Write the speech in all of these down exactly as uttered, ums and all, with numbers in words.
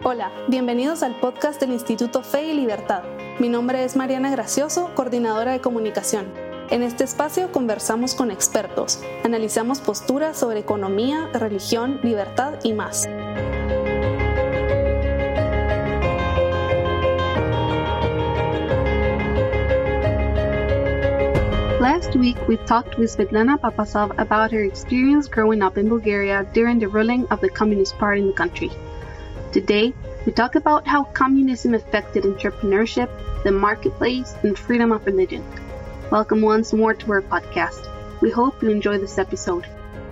Hola, bienvenidos al podcast del Instituto Fe y Libertad. Mi nombre es Mariana Gracioso, coordinadora de comunicación. En este espacio conversamos con expertos, analizamos posturas sobre economía, religión, libertad y más. Last week, we talked with Svetlana Papasov about her experience growing up in Bulgaria during the ruling of the Communist Party in the country. Today, we talk about how communism affected entrepreneurship, the marketplace, and freedom of religion. Welcome once more to our podcast. We hope you enjoy this episode.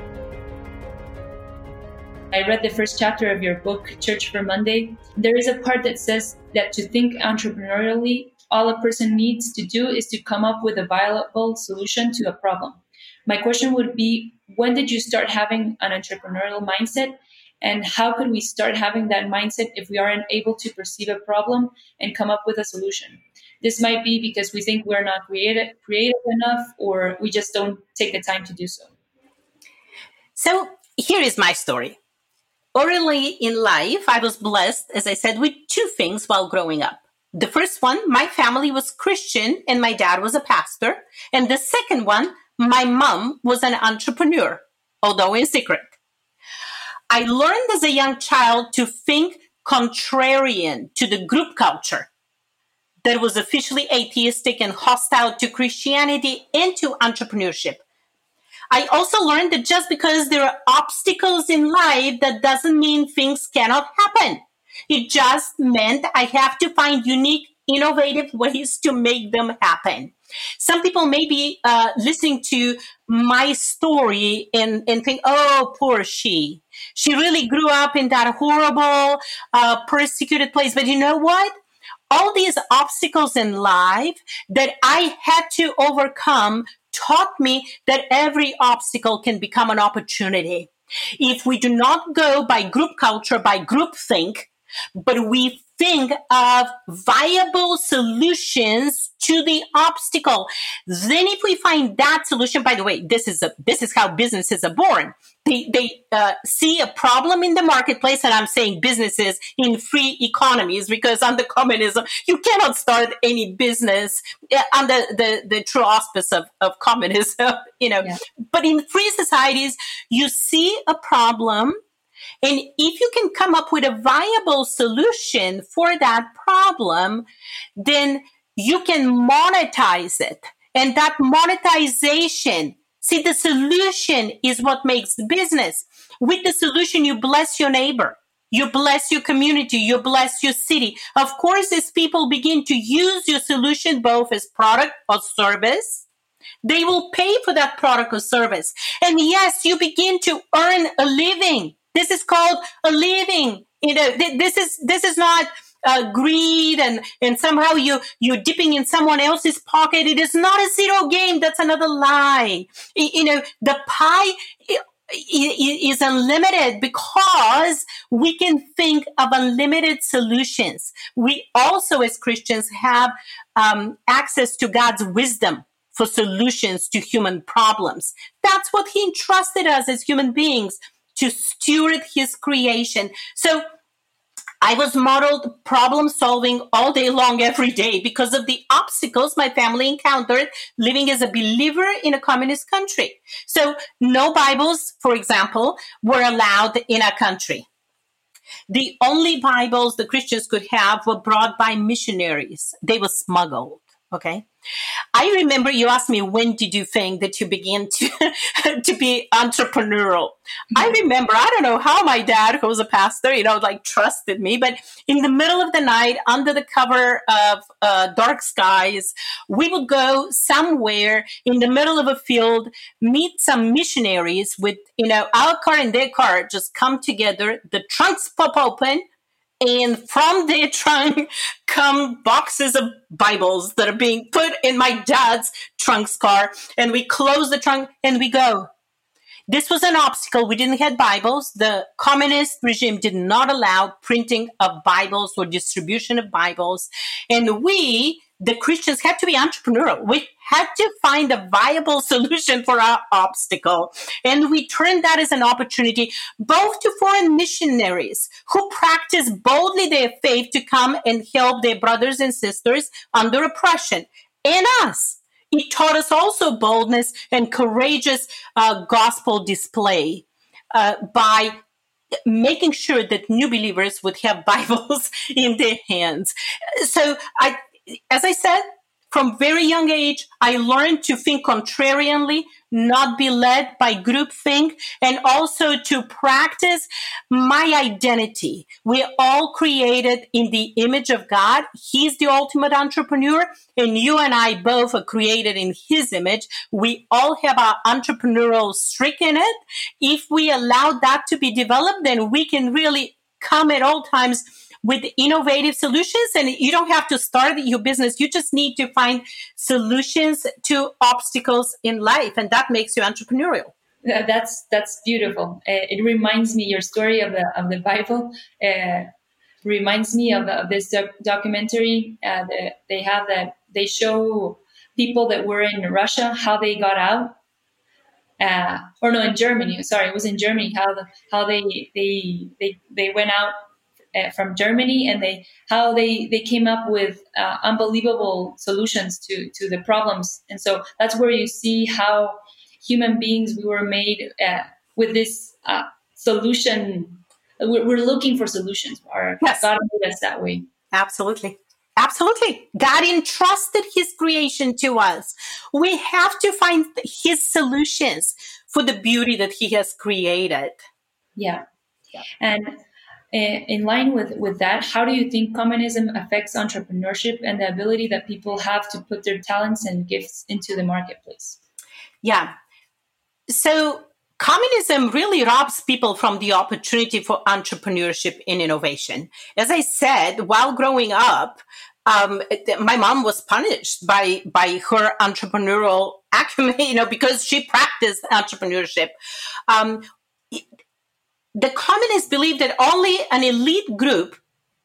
I read the first chapter of your book, Church for Monday. There is a part that says that to think entrepreneurially, all a person needs to do is to come up with a viable solution to a problem. My question would be, when did you start having an entrepreneurial mindset? And how could we start having that mindset if we aren't able to perceive a problem and come up with a solution? This might be because we think we're not creative, creative enough, or we just don't take the time to do so. So here is my story. Early in life, I was blessed, as I said, with two things while growing up. The first one, my family was Christian and my dad was a pastor. And the second one, my mom was an entrepreneur, although in secret. I learned as a young child to think contrarian to the group culture that was officially atheistic and hostile to Christianity and to entrepreneurship. I also learned that just because there are obstacles in life, that doesn't mean things cannot happen. It just meant I have to find unique, innovative ways to make them happen. Some people may be uh, listening to my story and, and think, oh, poor she. She really grew up in that horrible, uh, persecuted place. But you know what? All these obstacles in life that I had to overcome taught me that every obstacle can become an opportunity. If we do not go by group culture, by group think, but we think of viable solutions to the obstacle. Then if we find that solution, by the way, this is a, this is how businesses are born. They, they uh, see a problem in the marketplace, and I'm saying businesses in free economies, because under communism, you cannot start any business under the, the true auspice of, of communism, you know. Yeah. But in free societies, you see a problem, and if you can come up with a viable solution for that problem, then you can monetize it. And that monetization, see, the solution is what makes the business. With the solution, you bless your neighbor. You bless your community. You bless your city. Of course, as people begin to use your solution both as product or service, they will pay for that product or service. And yes, you begin to earn a living. This is called a living. You know, th- this is this is not uh, greed and, and somehow you, you're dipping in someone else's pocket. It is not a zero game. That's another lie. Y- you know, the pie is unlimited because we can think of unlimited solutions. We also, as Christians, have um, access to God's wisdom for solutions to human problems. That's what He entrusted us as human beings, to steward His creation. So I was modeled problem solving all day long, every day, because of the obstacles my family encountered living as a believer in a communist country. So no Bibles, for example, were allowed in our country. The only Bibles the Christians could have were brought by missionaries. They were smuggled. Okay. I remember you asked me, when did you think that you began to, to be entrepreneurial? Mm-hmm. I remember, I don't know how my dad, who was a pastor, you know, like trusted me, but in the middle of the night, under the cover of uh, dark skies, we would go somewhere in the middle of a field, meet some missionaries with, you know, our car and their car, just come together, the trunks pop open, and from their trunk come boxes of Bibles that are being put in my dad's trunk's car. And we close the trunk and we go. This was an obstacle. We didn't have Bibles. The communist regime did not allow printing of Bibles or distribution of Bibles. And we the Christians had to be entrepreneurial. We had to find a viable solution for our obstacle. And we turned that as an opportunity both to foreign missionaries who practice boldly their faith to come and help their brothers and sisters under oppression, and us. It taught us also boldness and courageous uh, gospel display uh, by making sure that new believers would have Bibles in their hands. So, I, as I said, from very young age, I learned to think contrarianly, not be led by groupthink, and also to practice my identity. We're all created in the image of God. He's the ultimate entrepreneur, and you and I both are created in His image. We all have our entrepreneurial streak in it. If we allow that to be developed, then we can really come at all times with innovative solutions, and you don't have to start your business. You just need to find solutions to obstacles in life, and that makes you entrepreneurial. That's that's beautiful. Uh, it reminds me your story of the of the Bible. Uh, reminds me of, of this doc- documentary. Uh, that they have that they show people that were in Russia how they got out. Uh, or no, in Germany. Sorry, it was in Germany. How the, how they they they they went out Uh, from Germany, and they how they they came up with uh, unbelievable solutions to to the problems. And so that's where you see how human beings, we were made uh, with this uh, solution. We're, we're looking for solutions. Our Yes. God made us that way. Absolutely. Absolutely. God entrusted His creation to us. We have to find His solutions for the beauty that He has created. Yeah. yeah. And in line with, with that, how do you think communism affects entrepreneurship and the ability that people have to put their talents and gifts into the marketplace? Yeah. So communism really robs people from the opportunity for entrepreneurship and innovation. As I said, while growing up, um, my mom was punished by, by her entrepreneurial acumen, you know, because she practiced entrepreneurship. Um, The communists believe that only an elite group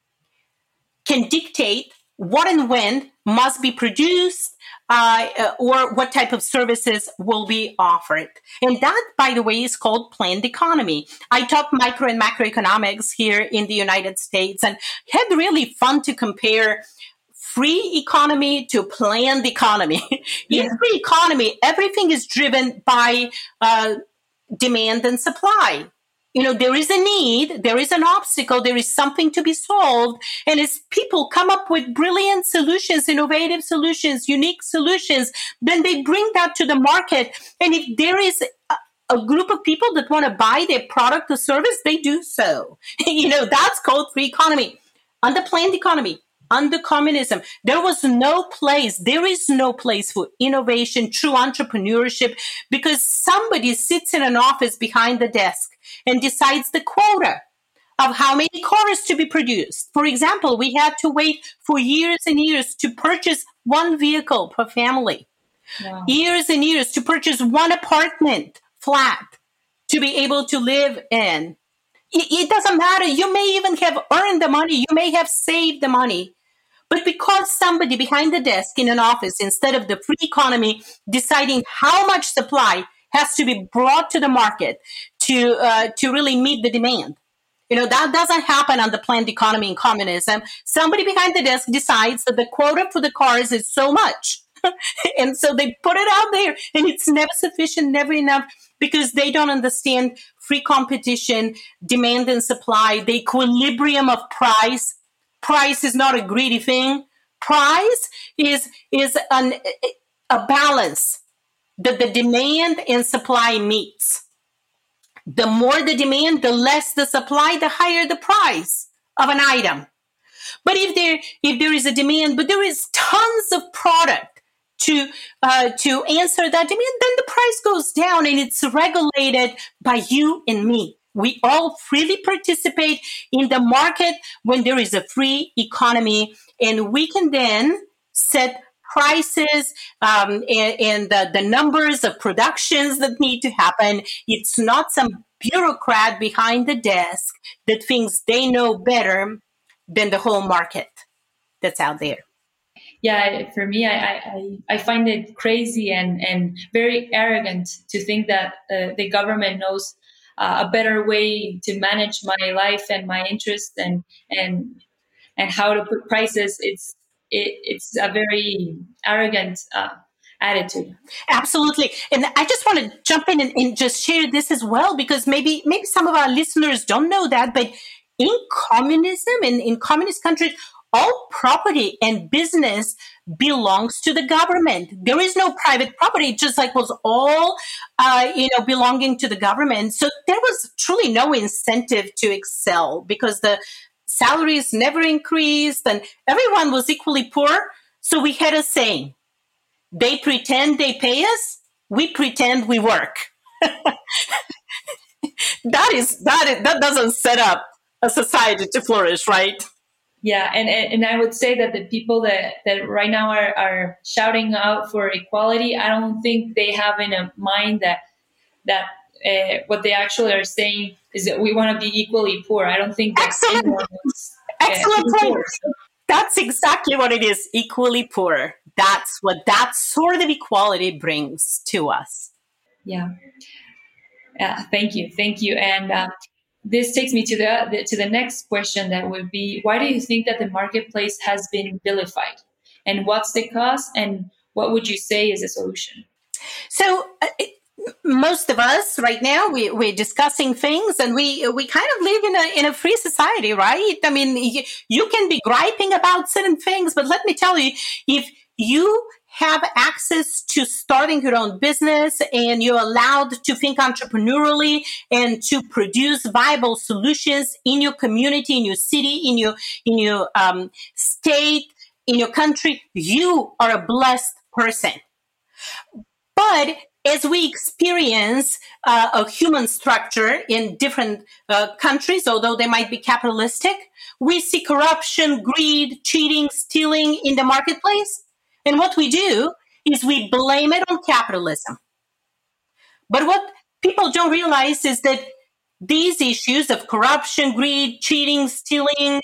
can dictate what and when must be produced uh, or what type of services will be offered. And that, by the way, is called planned economy. I taught micro and macroeconomics here in the United States and had really fun to compare free economy to planned economy. Yeah. In free economy, everything is driven by uh, demand and supply. You know, there is a need, there is an obstacle, there is something to be solved. And as people come up with brilliant solutions, innovative solutions, unique solutions, then they bring that to the market. And if there is a, a group of people that want to buy their product or service, they do so. You know, that's called free economy. Under planned economy, under communism, there was no place, there is no place for innovation, true entrepreneurship, because somebody sits in an office behind the desk and decides the quota of how many cars to be produced. For example, we had to wait for years and years to purchase one vehicle per family. Wow. Years and years to purchase one apartment flat to be able to live in. It, it doesn't matter. You may even have earned the money. You may have saved the money. But because somebody behind the desk in an office, instead of the free economy, deciding how much supply has to be brought to the market to uh, to really meet the demand. You know, that doesn't happen on the planned economy in communism. Somebody behind the desk decides that the quota for the cars is so much. And so they put it out there, and it's never sufficient, never enough, because they don't understand free competition, demand and supply, the equilibrium of price. Price is not a greedy thing. Price is, is an, a balance that the demand and supply meets. The more the demand, the less the supply, the higher the price of an item. But if there if there is a demand, but there is tons of product to uh, to answer that demand, then the price goes down, and it's regulated by you and me. We all freely participate in the market when there is a free economy, and we can then set prices um, and, and the, the numbers of productions that need to happen. It's not some bureaucrat behind the desk that thinks they know better than the whole market that's out there. yeah, for me, I, I, I find it crazy and, and very arrogant to think that uh, the government knows uh, a better way to manage my life and my interests and and and how to put prices. It's it, it's a very arrogant uh, attitude. Absolutely. And I just want to jump in and, and just share this as well, because maybe maybe some of our listeners don't know that, but in communism and in communist countries, all property and business belongs to the government. There is no private property, just like was all, uh, you know, belonging to the government. So there was truly no incentive to excel because the salaries never increased and everyone was equally poor. So we had a saying, they pretend they pay us, we pretend we work. that is, that is, that doesn't set up a society to flourish, right? Yeah, and, and I would say that the people that, that right now are, are shouting out for equality, I don't think they have in a mind that that uh, what they actually are saying is that we want to be equally poor. I don't think that Excellent, anyone is, uh, excellent point. poor, so. That's exactly what it is, equally poor. That's what that sort of equality brings to us. Yeah. Yeah. Thank you. Thank you. And uh, this takes me to the, the to the next question that would be, why do you think that the marketplace has been vilified? And what's the cause? And what would you say is a solution? So uh, it, most of us right now, we, we're discussing things and we we kind of live in a in a free society, right? I mean, you, you can be griping about certain things, but let me tell you, if you have access to starting your own business and you're allowed to think entrepreneurially and to produce viable solutions in your community, in your city, in your in your um, state, in your country, you are a blessed person. But as we experience uh, a human structure in different uh, countries, although they might be capitalistic, we see corruption, greed, cheating, stealing in the marketplace. And what we do is we blame it on capitalism. But what people don't realize is that these issues of corruption, greed, cheating, stealing,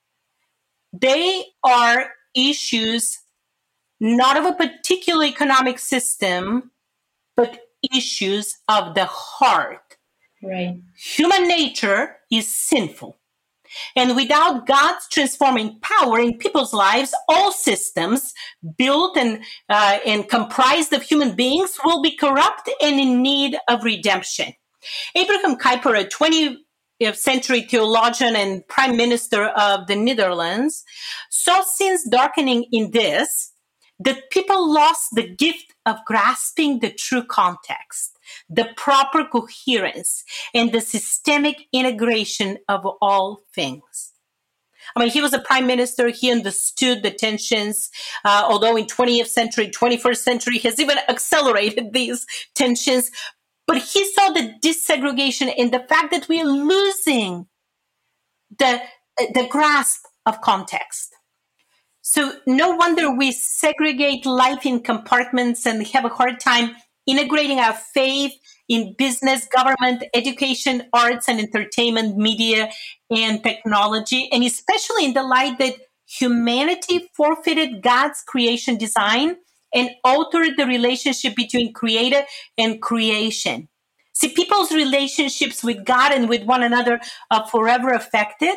they are issues not of a particular economic system, but issues of the heart. Right. Human nature is sinful. And without God's transforming power in people's lives, all systems built and, uh, and comprised of human beings will be corrupt and in need of redemption. Abraham Kuyper, a twentieth century theologian and prime minister of the Netherlands, saw sins darkening in this, that people lost the gift of grasping the true context, the proper coherence, and the systemic integration of all things. I mean, he was a prime minister. He understood the tensions, uh, although in twentieth century, twenty-first century has even accelerated these tensions. But he saw the desegregation and the fact that we are losing the, the grasp of context. So no wonder we segregate life in compartments and have a hard time integrating our faith in business, government, education, arts and entertainment, media, and technology, and especially in the light that humanity forfeited God's creation design and altered the relationship between creator and creation. See, people's relationships with God and with one another are forever affected.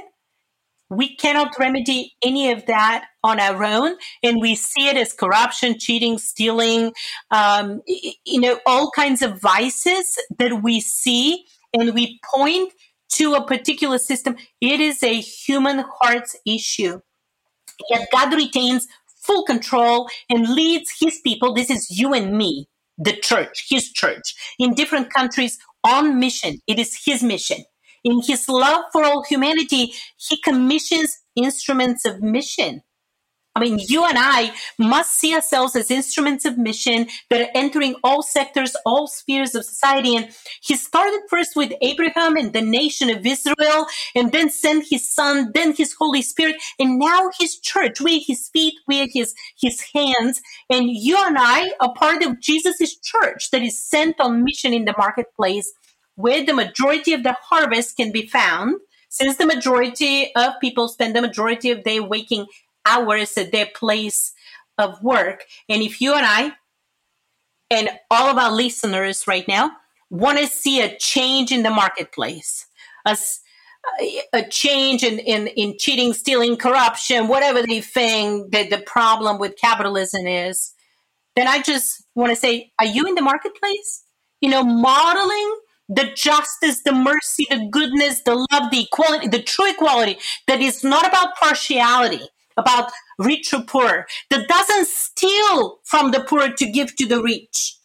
We cannot remedy any of that on our own, and we see it as corruption, cheating, stealing, um, you know, all kinds of vices that we see, and we point to a particular system. It is a human heart's issue. Yet God retains full control and leads his people, this is you and me, the church, his church, in different countries on mission. It is his mission. In his love for all humanity, he commissions instruments of mission. I mean, you and I must see ourselves as instruments of mission that are entering all sectors, all spheres of society. And he started first with Abraham and the nation of Israel, and then sent his son, then his Holy Spirit, and now his church. We are his feet, we are his, his hands. And you and I are part of Jesus' church that is sent on mission in the marketplace, where the majority of the harvest can be found, since the majority of people spend the majority of their waking hours at their place of work. And if you and I and all of our listeners right now want to see a change in the marketplace, a, a change in, in, in cheating, stealing, corruption, whatever they think that the problem with capitalism is, then I just want to say, are you in the marketplace? You know, modeling the justice, the mercy, the goodness, the love, the equality, the true equality that is not about partiality, about rich or poor, that doesn't steal from the poor to give to the rich,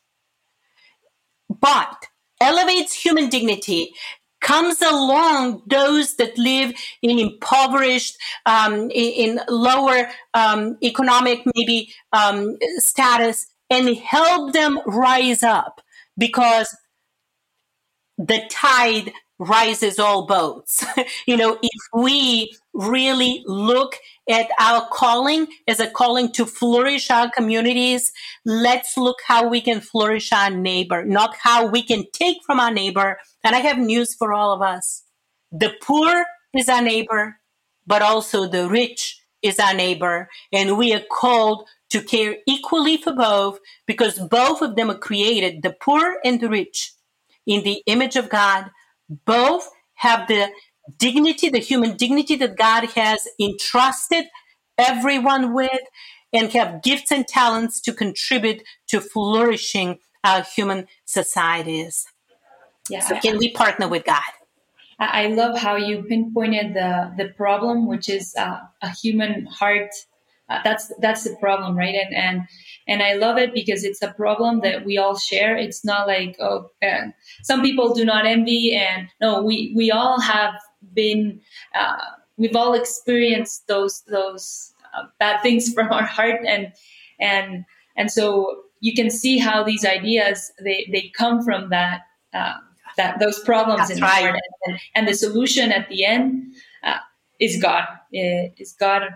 but elevates human dignity, comes along those that live in impoverished, um, in, in lower um, economic maybe um, status, and help them rise up, because the tide rises all boats. You know, if we really look at our calling as a calling to flourish our communities, let's look how we can flourish our neighbor, not how we can take from our neighbor. And I have news for all of us. The poor is our neighbor, but also the rich is our neighbor. And we are called to care equally for both, because both of them are created, the poor and the rich, in the image of God. Both have the dignity, the human dignity that God has entrusted everyone with, and have gifts and talents to contribute to flourishing our human societies. Yeah, so can we partner with God? I love how you pinpointed the, the problem, which is uh, a human heart. Uh, that's that's the problem, right? And and and I love it because it's a problem that we all share. It's not like, oh, uh, some people do not envy, and no, we we all have been, uh, we've all experienced those those uh, bad things from our heart, and and and so you can see how these ideas they they come from that uh, that those problems That's in right. the heart, and, and the solution at the end uh, is God, is God.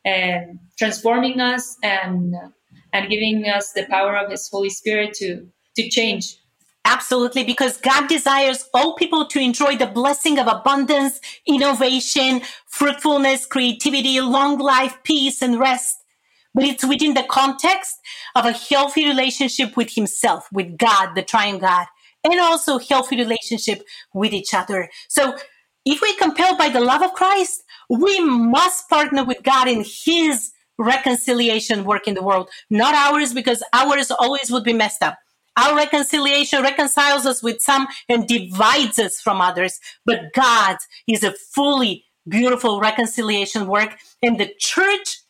And transforming us and and giving us the power of His Holy Spirit to to change. Absolutely, because God desires all people to enjoy the blessing of abundance, innovation, fruitfulness, creativity, long life, peace, and rest. But it's within the context of a healthy relationship with Himself, with God, the Triune God, and also healthy relationship with each other. So if we're compelled by the love of Christ, we must partner with God in His reconciliation work in the world, not ours, because ours always would be messed up. Our reconciliation reconciles us with some and divides us from others, but God's is a fully beautiful reconciliation work, and the church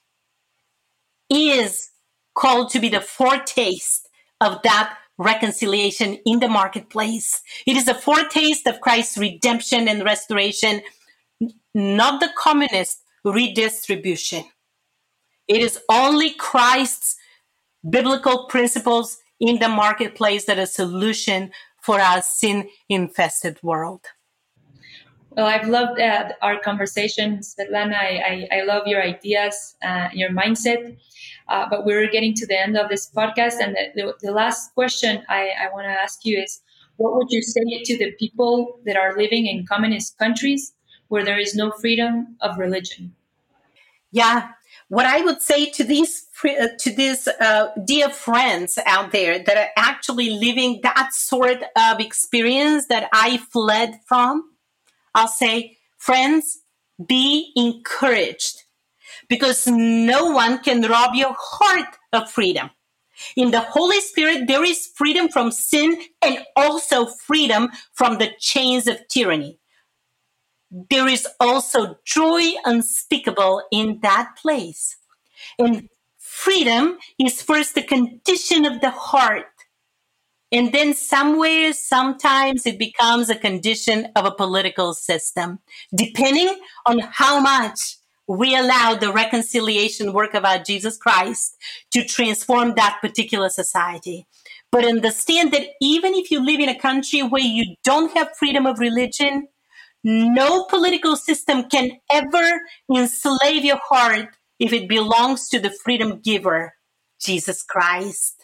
is called to be the foretaste of that reconciliation in the marketplace. It is a foretaste of Christ's redemption and restoration, not the communist redistribution. It is only Christ's biblical principles in the marketplace that are a solution for our sin-infested world. Well, I've loved uh, our conversation, Svetlana. I, I, I love your ideas, uh, your mindset. Uh, but we're getting to the end of this podcast. And the, the, the last question I, I want to ask you is, what would you say to the people that are living in communist countries where there is no freedom of religion? Yeah, what I would say to these to these uh, dear friends out there that are actually living that sort of experience that I fled from, I'll say, friends, be encouraged, because no one can rob your heart of freedom. In the Holy Spirit, there is freedom from sin and also freedom from the chains of tyranny. There is also joy unspeakable in that place. And freedom is first the condition of the heart. And then somewhere, sometimes it becomes a condition of a political system, depending on how much we allow the reconciliation work of our Jesus Christ to transform that particular society. But understand that even if you live in a country where you don't have freedom of religion, no political system can ever enslave your heart if it belongs to the freedom giver, Jesus Christ.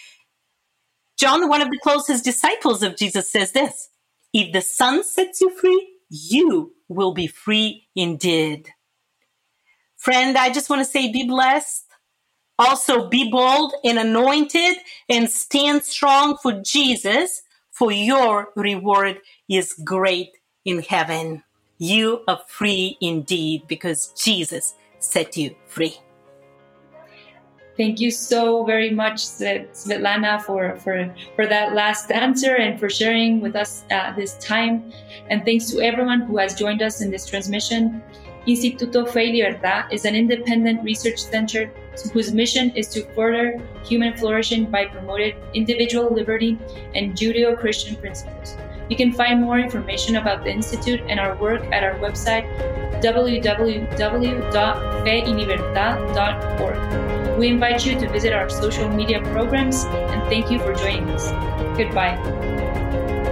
John, one of the closest disciples of Jesus, says this: if the Son sets you free, you will be free indeed. Friend, I just want to say, be blessed. Also, be bold and anointed and stand strong for Jesus, for your reward is great in heaven. You are free indeed because Jesus set you free. Thank you so very much, Svetlana, for, for, for that last answer and for sharing with us uh, this time. And thanks to everyone who has joined us in this transmission. Instituto Fe y Libertad is an independent research center whose mission is to further human flourishing by promoting individual liberty and Judeo-Christian principles. You can find more information about the Institute and our work at our website, w w w dot fe y libertad dot org. We invite you to visit our social media programs and thank you for joining us. Goodbye.